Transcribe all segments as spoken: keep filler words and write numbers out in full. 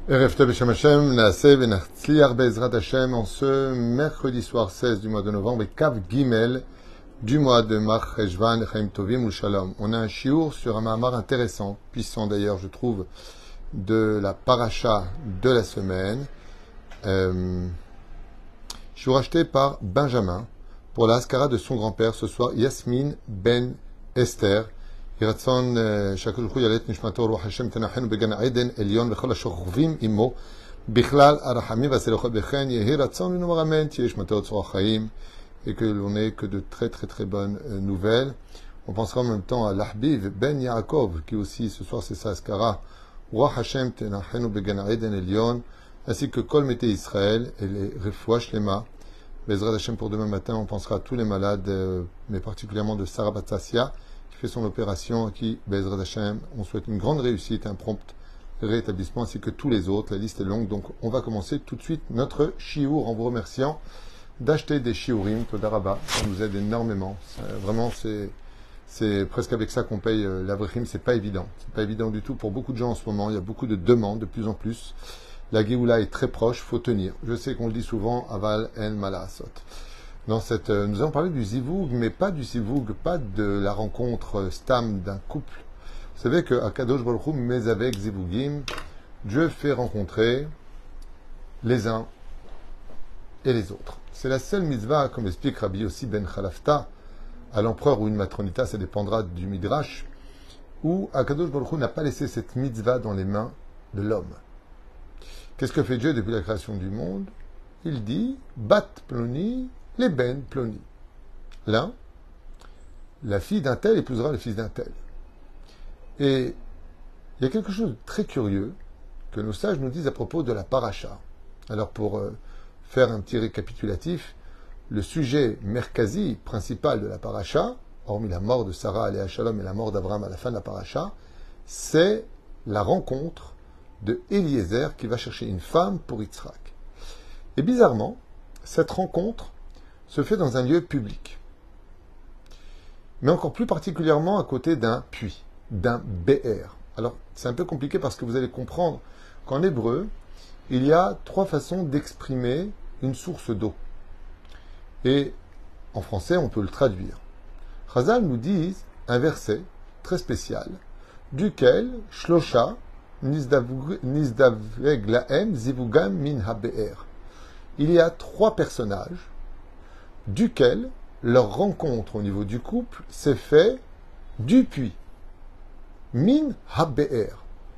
Erev Tov Beshem Hashem, Naaseh Venatzliach Be'ezrat Hashem, en ce mercredi soir seize du mois de novembre, et Kav Gimel du mois de Mar Cheshvan, Chaim Tovim ou Shalom. On a un shiur sur un mahamar intéressant, puissant d'ailleurs, je trouve, de la paracha de la semaine. Euh, shiur acheté par Benjamin pour la Haskara de son grand-père ce soir, Yasmin Ben Esther. ירצון שהקדוש ברוך הוא יעלה את נשמתו רוח השם תנחנו בגן עדן עליון וכל השוכבים עמו בכלל הרחמים והסליחות וכן יהי רצון ונאמר אמן תהיה נשמתו צרור החיים et que l'on ait que de très très très bonnes nouvelles. On pensera en même temps à l'Ahbiv Ben Yaakov qui aussi ce soir c'est sa Haskara roi Hashem tenachenu began eden Elion ainsi que Kol Mete Israël et les Refoua Shlema. Bezrat Hashem pour demain matin on pensera à tous les malades mais particulièrement de Sarah Batassia fait son opération, à qui, Bezrat Hashem, on souhaite une grande réussite, un prompt rétablissement, ainsi que tous les autres. La liste est longue, donc on va commencer tout de suite notre shiur en vous remerciant d'acheter des shiurim, Todaraba, ça nous aide énormément. Ça, vraiment, c'est, c'est presque avec ça qu'on paye euh, l'Avrechim, c'est pas évident. C'est pas évident du tout pour beaucoup de gens en ce moment, il y a beaucoup de demandes, de plus en plus. La Géoula est très proche, faut tenir. Je sais qu'on le dit souvent, Aval en Malasot. Dans cette, euh, nous allons parler du zivoug, mais pas du zivoug, pas de la rencontre euh, stam d'un couple. Vous savez que Akadosh Baruch Hu, mais avec zivougim, Dieu fait rencontrer les uns et les autres. C'est la seule mitzvah, comme explique Rabbi Yossi ben Khalafta, à l'empereur ou une matronita, ça dépendra du midrash, où Akadosh Baruch Hu n'a pas laissé cette mitzvah dans les mains de l'homme. Qu'est-ce que fait Dieu depuis la création du monde? Il dit, bat ploni, les ben ploni. L'un, la fille d'un tel épousera le fils d'un tel. Et il y a quelque chose de très curieux que nos sages nous disent à propos de la paracha. Alors pour euh, faire un petit récapitulatif, le sujet merkazi principal de la paracha, hormis la mort de Sarah aléa Shalom et la mort d'Abraham à la fin de la paracha, c'est la rencontre de Eliezer qui va chercher une femme pour Yitzhak. Et bizarrement, cette rencontre se fait dans un lieu public. Mais encore plus particulièrement à côté d'un puits, d'un be'er. Alors, c'est un peu compliqué parce que vous allez comprendre qu'en hébreu, il y a trois façons d'exprimer une source d'eau. Et en français, on peut le traduire. Chazal nous dit un verset très spécial, duquel Shlosha nizdaveg lahem zivugam min ha-be'er. Il y a trois personnages duquel leur rencontre au niveau du couple s'est fait du puits. Min ha-be'er.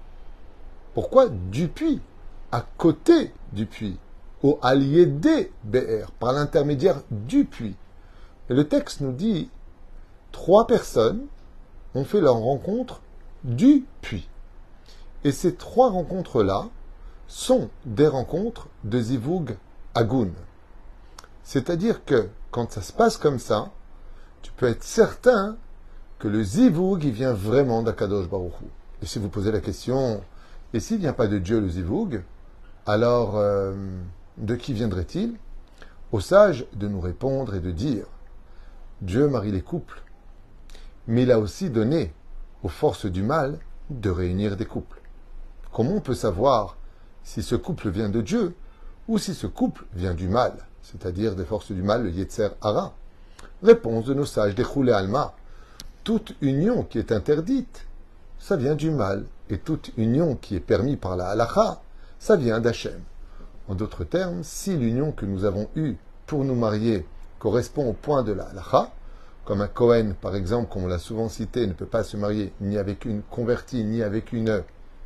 Pourquoi du puits? À côté du puits. Au allié des be'er. Par l'intermédiaire du puits. Et le texte nous dit trois personnes ont fait leur rencontre du puits. Et ces trois rencontres-là sont des rencontres de Zivug Agun. C'est-à-dire que quand ça se passe comme ça, tu peux être certain que le zivoug, il vient vraiment d'Akadosh Baruch Hu. Et si vous posez la question, et s'il ne vient pas de Dieu le zivoug, alors euh, de qui viendrait-il? Au sage de nous répondre et de dire, Dieu marie les couples, mais il a aussi donné aux forces du mal de réunir des couples. Comment on peut savoir si ce couple vient de Dieu ou si ce couple vient du mal, c'est-à-dire des forces du mal, le Yetzer Hara? Réponse de nos sages des Choulé Alma. Toute union qui est interdite, ça vient du mal. Et toute union qui est permise par la Halacha, ça vient d'Hachem. En d'autres termes, si l'union que nous avons eue pour nous marier correspond au point de la Halacha, comme un Kohen, par exemple, comme on l'a souvent cité, ne peut pas se marier ni avec une convertie, ni avec une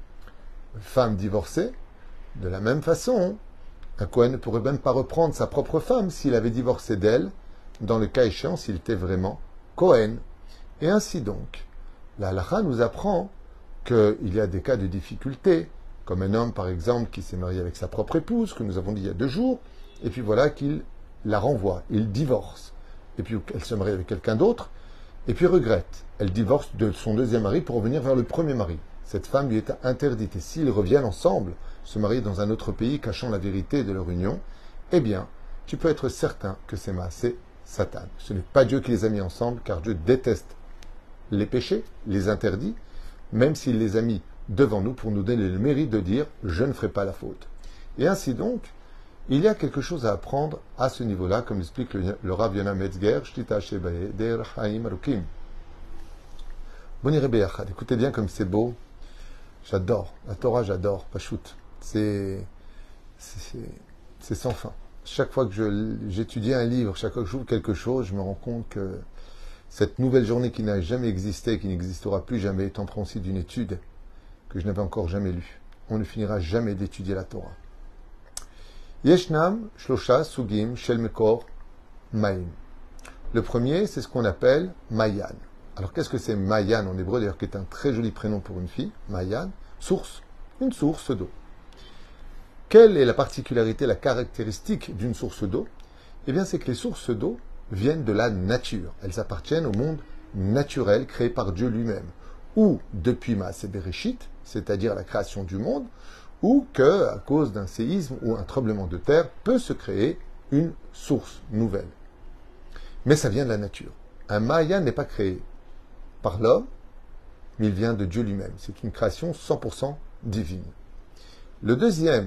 femme divorcée, de la même façon, un Kohen ne pourrait même pas reprendre sa propre femme s'il avait divorcé d'elle, dans le cas échéant s'il était vraiment Kohen. Et ainsi donc, la halakha nous apprend qu'il y a des cas de difficulté, comme un homme par exemple qui s'est marié avec sa propre épouse, que nous avons dit il y a deux jours, et puis voilà qu'il la renvoie, il divorce. Et puis elle se marie avec quelqu'un d'autre, et puis regrette. Elle divorce de son deuxième mari pour revenir vers le premier mari. Cette femme lui est interdite. Et s'ils reviennent ensemble, se marier dans un autre pays, cachant la vérité de leur union, eh bien, tu peux être certain que c'est Maasé Satan. Ce n'est pas Dieu qui les a mis ensemble, car Dieu déteste les péchés, les interdits, même s'il les a mis devant nous pour nous donner le mérite de dire « je ne ferai pas la faute ». Et ainsi donc, il y a quelque chose à apprendre à ce niveau-là, comme l'explique le, le Rav Yonah Metzger, Shtita Shebae, Der Chaim Arukim. Boniré Beyachad, écoutez bien comme c'est beau. J'adore, la Torah j'adore, Pachout. C'est, c'est, c'est sans fin. Chaque fois que je, j'étudie un livre, chaque fois que j'ouvre quelque chose, je me rends compte que cette nouvelle journée qui n'a jamais existé, qui n'existera plus jamais, est en principe d'une étude que je n'avais encore jamais lue. On ne finira jamais d'étudier la Torah. Yeshnam, Shlosha, Sugim, Shel Mekor, Maim. Le premier, c'est ce qu'on appelle Mayan. Alors, qu'est-ce que c'est Mayan en hébreu, d'ailleurs, qui est un très joli prénom pour une fille? Mayan, source, une source d'eau. Quelle est la particularité, la caractéristique d'une source d'eau? Eh bien, c'est que les sources d'eau viennent de la nature. Elles appartiennent au monde naturel créé par Dieu lui-même. Ou depuis Maaseh Bereshit, c'est-à-dire la création du monde, ou que, à cause d'un séisme ou un tremblement de terre, peut se créer une source nouvelle. Mais ça vient de la nature. Un Maya n'est pas créé par l'homme, mais il vient de Dieu lui-même. C'est une création cent pour cent divine. Le deuxième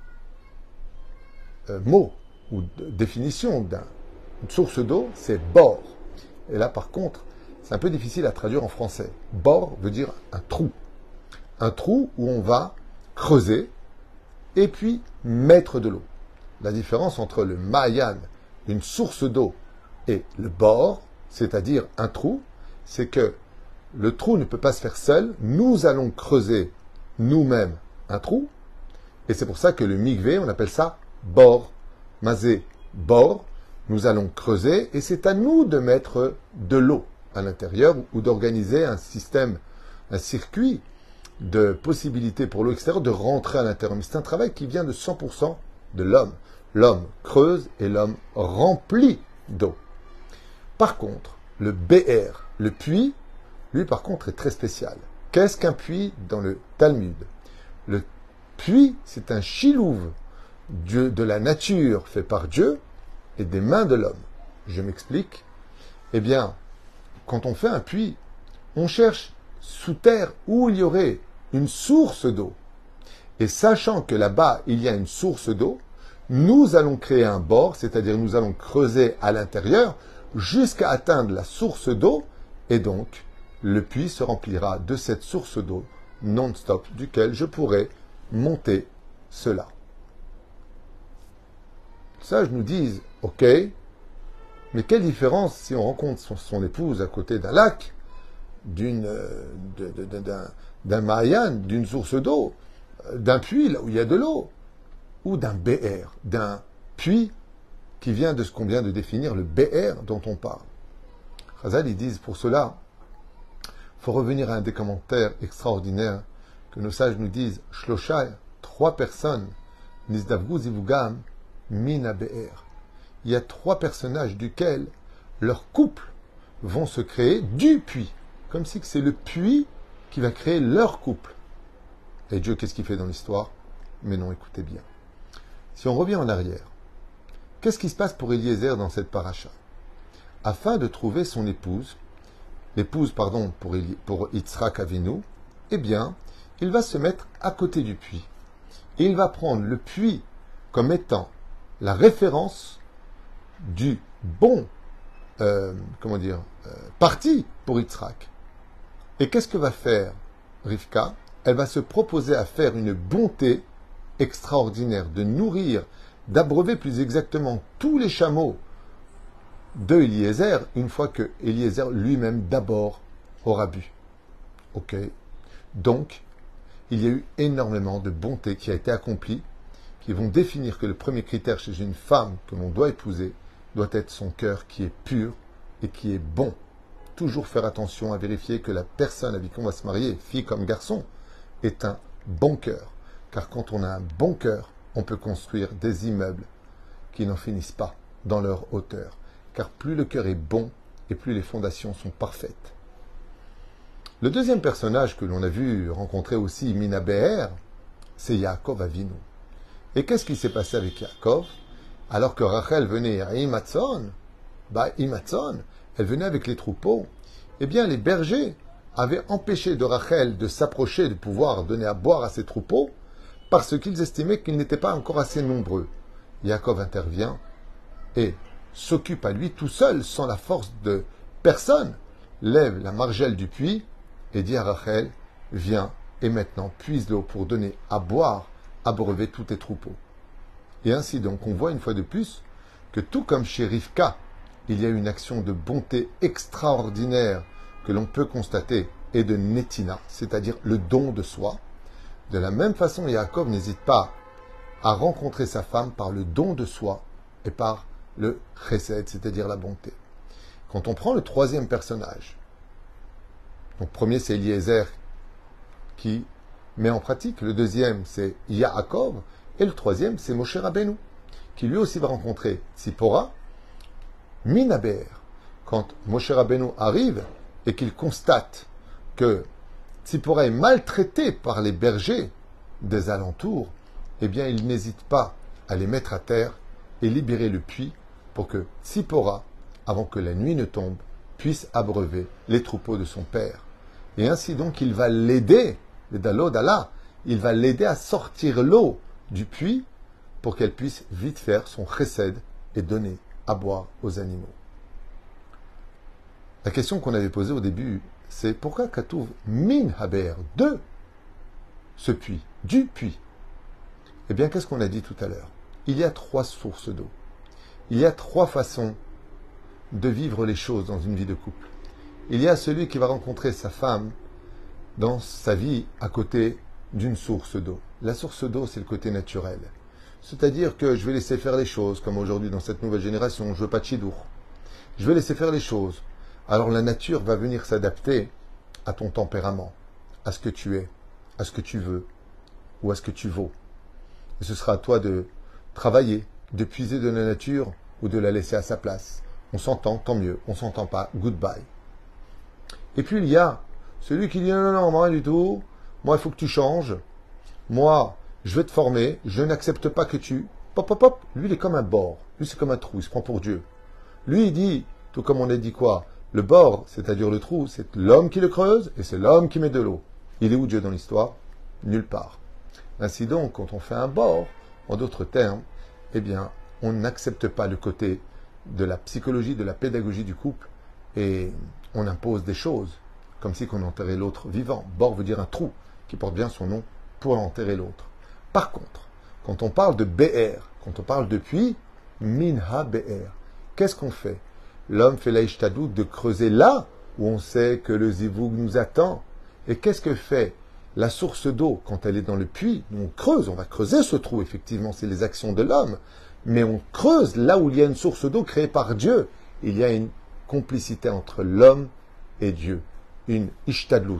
euh, mot ou définition d'une source d'eau, c'est bor. Et là, par contre, c'est un peu difficile à traduire en français. Bor veut dire un trou. Un trou où on va creuser et puis mettre de l'eau. La différence entre le Mayan, une source d'eau, et le bor, c'est-à-dire un trou, c'est que le trou ne peut pas se faire seul. Nous allons creuser nous-mêmes un trou. Et c'est pour ça que le mikvé, on appelle ça bor. Mazé, bor. Nous allons creuser et c'est à nous de mettre de l'eau à l'intérieur ou d'organiser un système, un circuit de possibilités pour l'eau extérieure de rentrer à l'intérieur. Mais c'est un travail qui vient de cent pour cent de l'homme. L'homme creuse et l'homme remplit d'eau. Par contre, le B R, le puits, lui par contre est très spécial. Qu'est-ce qu'un puits dans le Talmud? Le puits, c'est un chilouve Dieu, de la nature fait par Dieu et des mains de l'homme. Je m'explique. Eh bien, quand on fait un puits, on cherche sous terre où il y aurait une source d'eau. Et sachant que là-bas, il y a une source d'eau, nous allons créer un bord, c'est-à-dire nous allons creuser à l'intérieur jusqu'à atteindre la source d'eau, et donc le puits se remplira de cette source d'eau non-stop, duquel je pourrai monter cela. Ça, je nous dis, ok, mais quelle différence si on rencontre son, son épouse à côté d'un lac, d'une, de, de, de, d'un, d'un Mayan, d'une source d'eau, d'un puits là où il y a de l'eau, ou d'un B R, d'un puits qui vient de ce qu'on vient de définir, le B R dont on parle. Chazal, ils disent pour cela, il faut revenir à un des commentaires extraordinaires que nos sages nous disent, Shlosha, trois personnes, Nizdavgu Zivugam, Mina B R. Il y a trois personnages duquel leurs couples vont se créer du puits. Comme si c'est le puits qui va créer leur couple. Et Dieu, qu'est-ce qu'il fait dans l'histoire? Mais non, écoutez bien. Si on revient en arrière, qu'est-ce qui se passe pour Eliezer dans cette paracha? Afin de trouver son épouse, l'épouse, pardon, pour, Eli, pour Yitzhak Avinu, eh bien, il va se mettre à côté du puits. Et il va prendre le puits comme étant la référence du bon, euh, comment dire, euh, parti pour Yitzhak. Et qu'est-ce que va faire Rivka? Elle va se proposer à faire une bonté extraordinaire, de nourrir, d'abreuver plus exactement tous les chameaux de Eliezer, une fois que Eliezer lui-même d'abord aura bu. Ok. Donc, il y a eu énormément de bonté qui a été accomplie, qui vont définir que le premier critère chez une femme que l'on doit épouser doit être son cœur qui est pur et qui est bon. Toujours faire attention à vérifier que la personne avec qui on va se marier, fille comme garçon, est un bon cœur. Car quand on a un bon cœur, on peut construire des immeubles qui n'en finissent pas dans leur hauteur. Car plus le cœur est bon, et plus les fondations sont parfaites. Le deuxième personnage que l'on a vu rencontrer aussi Mina Be'er, c'est Yaakov Avinu. Et qu'est-ce qui s'est passé avec Yaakov? Alors que Rachel venait à Imatzon, bah Imatzon, elle venait avec les troupeaux, eh bien les bergers avaient empêché de Rachel de s'approcher, de pouvoir donner à boire à ses troupeaux, parce qu'ils estimaient qu'ils n'étaient pas encore assez nombreux. Yaakov intervient et s'occupe à lui tout seul, sans la force de personne, lève la margelle du puits et dit à Rachel, viens et maintenant puise l'eau pour donner à boire, abreuver tous tes troupeaux. Et ainsi donc, on voit une fois de plus que tout comme chez Rivka, il y a une action de bonté extraordinaire que l'on peut constater et de netina, c'est-à-dire le don de soi. De la même façon, Yaakov n'hésite pas à rencontrer sa femme par le don de soi et par le chesed, c'est-à-dire la bonté. Quand on prend le troisième personnage, donc premier c'est Eliezer qui met en pratique, le deuxième c'est Yaakov, et le troisième c'est Moshe Rabbeinu, qui lui aussi va rencontrer Tzipora, Minaber. Quand Moshe Rabbeinu arrive et qu'il constate que Tzipora est maltraitée par les bergers des alentours, eh bien il n'hésite pas à les mettre à terre et libérer le puits pour que Tzipora, avant que la nuit ne tombe, puisse abreuver les troupeaux de son père. Et ainsi donc, il va l'aider, le Dalo Dala, il va l'aider à sortir l'eau du puits pour qu'elle puisse vite faire son chesed et donner à boire aux animaux. La question qu'on avait posée au début, c'est pourquoi Katouv min haber, de ce puits, du puits. Eh bien, qu'est-ce qu'on a dit tout à l'heure? Il y a trois sources d'eau. Il y a trois façons de vivre les choses dans une vie de couple. Il y a celui qui va rencontrer sa femme dans sa vie à côté d'une source d'eau. La source d'eau, c'est le côté naturel. C'est-à-dire que je vais laisser faire les choses, comme aujourd'hui dans cette nouvelle génération, je veux pas de chidour. Je vais laisser faire les choses. Alors la nature va venir s'adapter à ton tempérament, à ce que tu es, à ce que tu veux, ou à ce que tu vaux. Et ce sera à toi de travailler, de puiser de la nature ou de la laisser à sa place. On s'entend, tant mieux. On s'entend pas, goodbye. Et puis il y a celui qui dit non, non, non, moi rien du tout. Moi, il faut que tu changes. Moi, je vais te former. Je n'accepte pas que tu... Pop, pop, pop. Lui, il est comme un bord. Lui, c'est comme un trou. Il se prend pour Dieu. Lui, il dit, tout comme on a dit quoi? Le bord, c'est-à-dire le trou, c'est l'homme qui le creuse et c'est l'homme qui met de l'eau. Il est où Dieu dans l'histoire? Nulle part. Ainsi donc, quand on fait un bord, en d'autres termes, eh bien, on n'accepte pas le côté de la psychologie, de la pédagogie du couple et on impose des choses, comme si on enterrait l'autre vivant. Bord veut dire un trou qui porte bien son nom pour enterrer l'autre. Par contre, quand on parle de B R, quand on parle de puits, minha B R, qu'est-ce qu'on fait? L'homme fait l'aïchtadout de creuser là où on sait que le zivoug nous attend. Et qu'est-ce que fait la source d'eau quand elle est dans le puits? On creuse, on va creuser ce trou, effectivement, c'est les actions de l'homme. Mais on creuse là où il y a une source d'eau créée par Dieu. Il y a une complicité entre l'homme et Dieu. Une ishtadlout.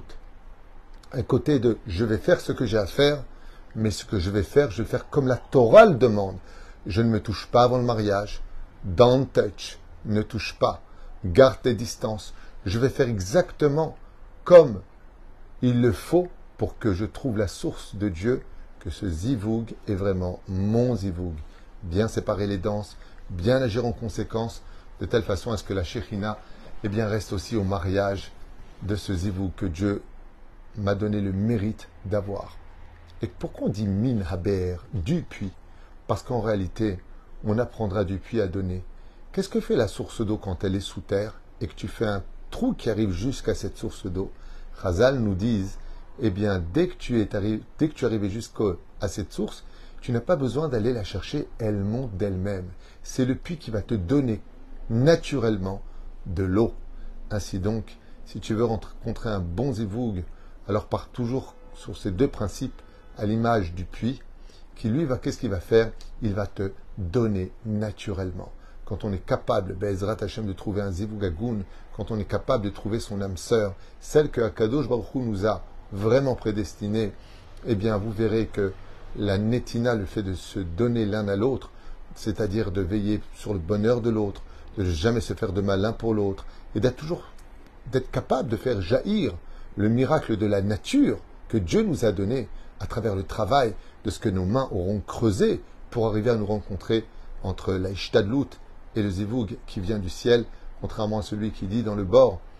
Un côté de je vais faire ce que j'ai à faire, mais ce que je vais faire, je vais faire comme la Torah le demande. Je ne me touche pas avant le mariage. Don't touch. Ne touche pas. Garde tes distances. Je vais faire exactement comme il le faut pour que je trouve la source de Dieu, que ce zivoug est vraiment mon zivoug. Bien séparer les danses, bien agir en conséquence, de telle façon à ce que la Shekhinah eh bien, reste aussi au mariage de ce zivoug que Dieu m'a donné le mérite d'avoir. Et pourquoi on dit min haber, du puits? Parce qu'en réalité, on apprendra du puits à donner. Qu'est-ce que fait la source d'eau quand elle est sous terre et que tu fais un trou qui arrive jusqu'à cette source d'eau? Chazal nous disent, eh bien, dès que tu es arrivé, dès que tu es arrivé jusqu'à cette source, tu n'as pas besoin d'aller la chercher, elle monte d'elle-même. C'est le puits qui va te donner naturellement de l'eau. Ainsi donc, si tu veux rencontrer un bon zivoug, alors pars toujours sur ces deux principes, à l'image du puits, qui lui va, qu'est-ce qu'il va faire? Il va te donner naturellement. Quand on est capable, Be'ezrat Hashem, de trouver un zivoug agoun, quand on est capable de trouver son âme sœur, celle que Akadosh Baruch Hu nous a vraiment prédestinée, eh bien, vous verrez que la netina, le fait de se donner l'un à l'autre, c'est-à-dire de veiller sur le bonheur de l'autre, de ne jamais se faire de mal l'un pour l'autre, et d'être toujours, d'être capable de faire jaillir le miracle de la nature que Dieu nous a donné à travers le travail de ce que nos mains auront creusé pour arriver à nous rencontrer entre la ishtadlout et le zivoug qui vient du ciel, contrairement à celui qui dit dans le bord,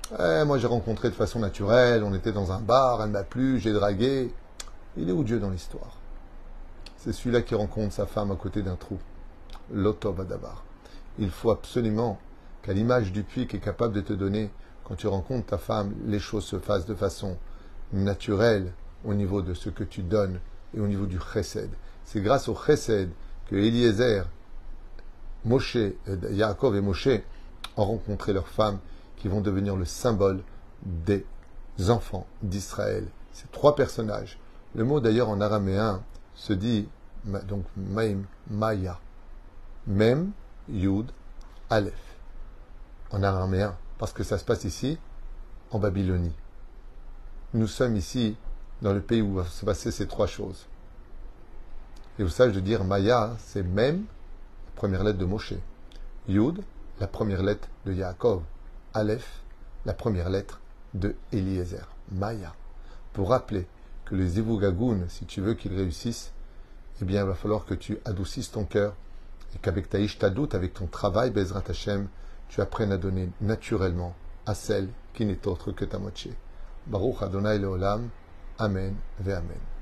Eh, moi j'ai rencontré de façon naturelle, on était dans un bar, elle m'a plu, j'ai dragué. Il est où Dieu dans l'histoire? C'est celui-là qui rencontre sa femme à côté d'un trou. L'Otov Adabar. Il faut absolument qu'à l'image du puits qui est capable de te donner, quand tu rencontres ta femme, les choses se fassent de façon naturelle au niveau de ce que tu donnes et au niveau du chesed. C'est grâce au chesed que Eliezer, Moshe, Yaakov et Moshe ont rencontré leurs femmes qui vont devenir le symbole des enfants d'Israël. Ces trois personnages. Le mot d'ailleurs en araméen se dit donc Maim, Maya. Mem, Yud, Aleph. En araméen. Parce que ça se passe ici, en Babylonie. Nous sommes ici, dans le pays où vont se passer ces trois choses. Et vous savez de dire Maya, c'est Mem, la première lettre de Moshe. Yud, la première lettre de Yaakov. Aleph, la première lettre de Eliezer. Maya. Pour rappeler que les Zivugagoun, si tu veux qu'ils réussissent, eh bien, il va falloir que tu adoucisses ton cœur et qu'avec ta ishtadout, avec ton travail, Bezrat Hashem, tu apprennes à donner naturellement à celle qui n'est autre que ta moitié. Baruch Adonai Leolam. Amen ve Amen.